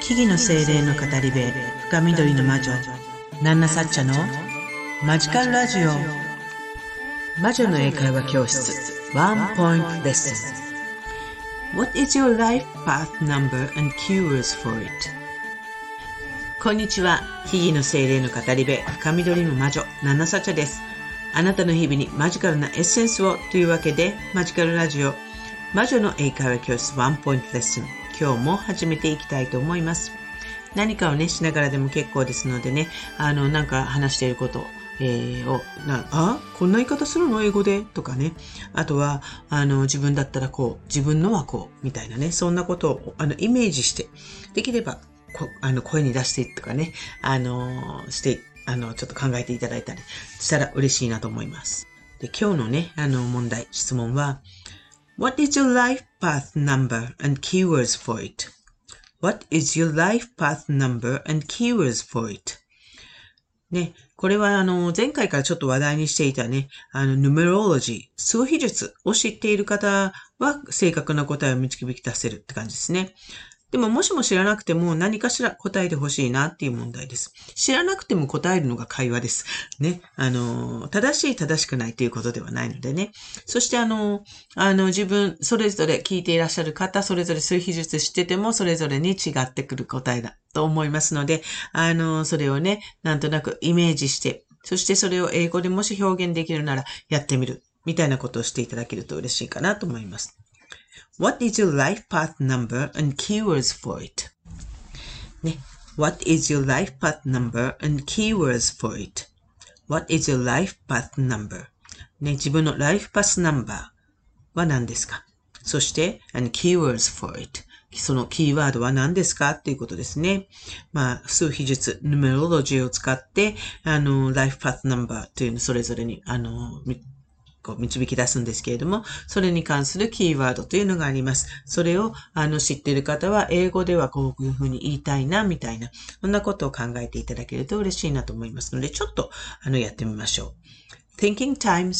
木々の精霊の語り部、深緑の魔女、ナンナサッチャのマジカルラジオ。魔女の英会話教室、ワンポイントレッスン。What is your life path number and keywords for it? こんにちは。木々の精霊の語り部、深緑の魔女、ナンナサッチャです。あなたの日々にマジカルなエッセンスをというわけで、マジカルラジオ、魔女の英会話教室ワンポイントレッスン。今日も始めていきたいと思います。何かをね、しながらでも結構ですのでね、なんか話していること、こんな言い方するの英語でとかね。あとは、自分だったらこう、自分のはこう、みたいなね、そんなことを、イメージして、できれば、声に出してとかね、して、ちょっと考えていただいたりしたら嬉しいなと思います。で、今日のね、質問は、What is your life path number and keywords for it? What is your life path number and keywords for it? ね、これは前回からちょっと話題にしていたね、numerology、数比術を知っている方は正確な答えを導き出せるって感じですね。でももしも知らなくても何かしら答えてほしいなっていう問題です。知らなくても答えるのが会話です。ね。正しい正しくないということではないのでね。そして自分、それぞれ聞いていらっしゃる方、それぞれ数比術知っててもそれぞれに違ってくる答えだと思いますので、それをね、なんとなくイメージして、そしてそれを英語でもし表現できるならやってみる。みたいなことをしていただけると嬉しいかなと思います。What is your life path number and keywords for it? ね。What is your life path number and keywords for it? What is your life path number? ね、自分のライフパスナンバーは何ですか？そして、and keywords for it. そのキーワードは何ですかっていうことですね。数比術、ヌメロロジーを使って、ライフパスナンバーというのそれぞれに、導き出すんですけれども、それに関するキーワードというのがあります。それを、知っている方は、英語ではこういうふうに言いたいな、みたいな、そんなことを考えていただけると嬉しいなと思いますので、ちょっと、やってみましょう。Thinking time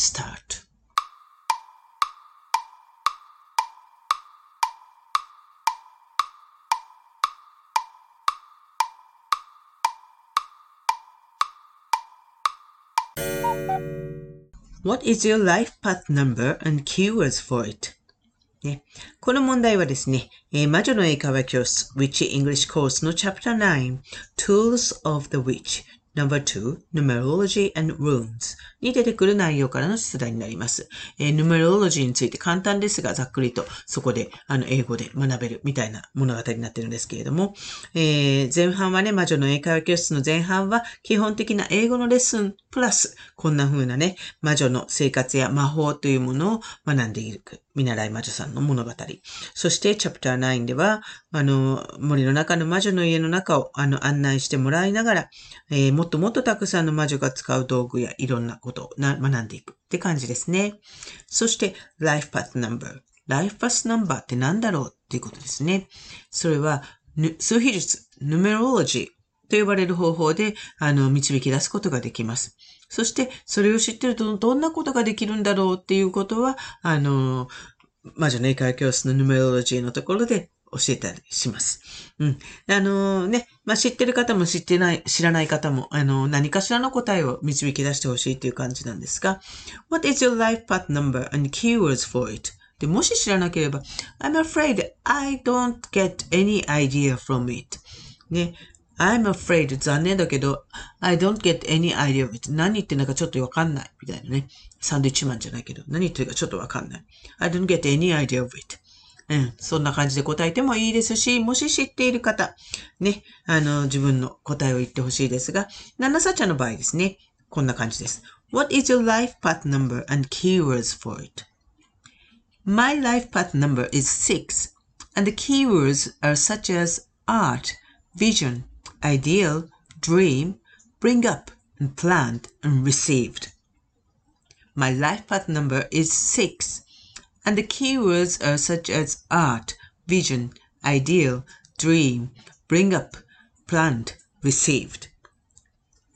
start.What is your life path number and keywords for it? ね、この問題はですね、魔女の英会話教室 Witchy English Course の Chapter 9 Tools of the Witch No.2 Numerology and Runes に出てくる内容からの出題になります。Numerology について簡単ですがざっくりとそこで英語で学べるみたいな物語になっているんですけれども、前半はね、魔女の英会話教室の前半は基本的な英語のレッスンプラスこんな風なね、魔女の生活や魔法というものを学んでいく見習い魔女さんの物語。そしてチャプター9では森の中の魔女の家の中を案内してもらいながら、もっともっとたくさんの魔女が使う道具やいろんなことを学んでいくって感じですね。そして Life Path Number。Life Path Number って何だろうっていうことですね。それは数比術、Numerology と呼ばれる方法で導き出すことができます。そしてそれを知ってるとどんなことができるんだろうっていうことは魔女の英会話教室のヌメロロジーのところで教えたりします。うん。知ってる方も知らない方も、何かしらの答えを導き出してほしいという感じなんですが、What is your life path number and keywords for it? で、もし知らなければ、I'm afraid I don't get any idea from it. ね。I'm afraid 残念だけど、I don't get any idea of it. 何言ってんだかちょっとわかんない。みたいなね。サンドイッチマンじゃないけど、何言ってるかちょっとわかんない。I don't get any idea of it. そんな感じで答えてもいいですし、もし知っている方、ね、自分の答えを言ってほしいですが、ナナサチャの場合ですね、こんな感じです。What is your life path number and keywords for it? My life path number is 6, and the keywords are such as art, vision, ideal, dream, bring up, and planned, and received. My life path number is 6.And the keywords are such as art, vision, ideal, dream, bring up, planned, received.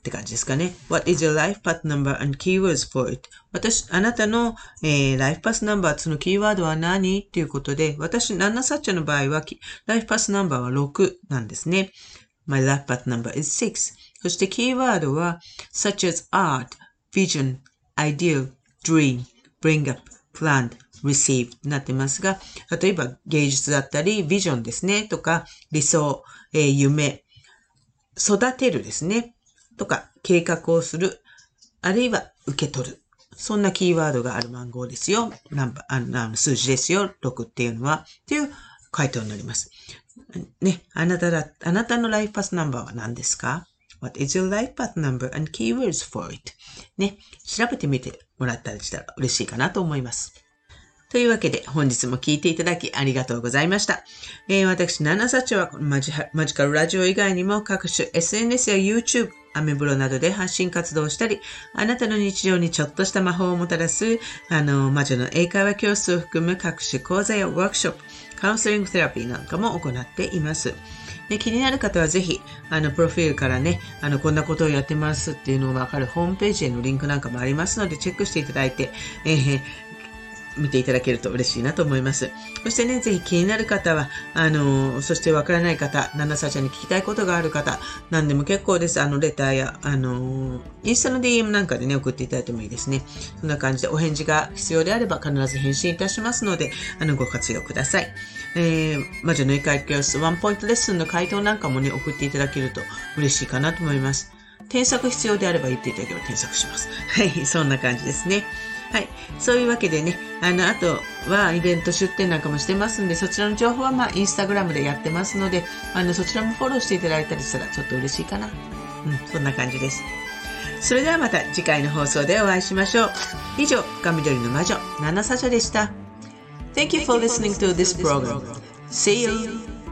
って感じですかね。What is your life path number and keywords for it? あなたの、ライフパスナンバー、そのキーワードは何っていうことで、ナンナサッチャの場合は、ライフパスナンバーは6なんですね。My life path number is 6. そしてキーワードは、such as art, vision, ideal, dream, bring up, planned, receive になってますが、例えば芸術だったり、ビジョンですね、とか、理想、夢、育てるですね。とか、計画をする、あるいは受け取る。そんなキーワードがある番号ですよ。数字ですよ。6っていうのは。っていう回答になります。ね、あなたのライフパスナンバーは何ですか？ What is your life path number and keywords for it? ね、調べてみてもらったりしたら嬉しいかなと思います。というわけで、本日も聞いていただきありがとうございました。私、ナナサチョはマジカルラジオ以外にも各種 SNS や YouTube、アメブロなどで発信活動をしたり、あなたの日常にちょっとした魔法をもたらす、魔女の英会話教室を含む各種講座やワークショップ、カウンセリングセラピーなんかも行っています。で、気になる方はぜひ、プロフィールからね、こんなことをやってますっていうのがわかるホームページへのリンクなんかもありますので、チェックしていただいて、見ていただけると嬉しいなと思います。そしてね、ぜひ気になる方は、そしてわからない方、ナナサちゃんに聞きたいことがある方、何でも結構です。レターや、インスタの DM なんかでね、送っていただいてもいいですね。そんな感じでお返事が必要であれば必ず返信いたしますので、ご活用ください。魔女の英会話教室ワンポイントレッスンの回答なんかもね、送っていただけると嬉しいかなと思います。添削必要であれば言っていただければ添削します。はい、そんな感じですね。はい。そういうわけでね、あとはイベント出店なんかもしてますんで、そちらの情報はインスタグラムでやってますので、そちらもフォローしていただいたりしたらちょっと嬉しいかな。そんな感じです。それではまた次回の放送でお会いしましょう。以上、深緑の魔女、ナナサチャでした。Thank you for listening to this program. See you!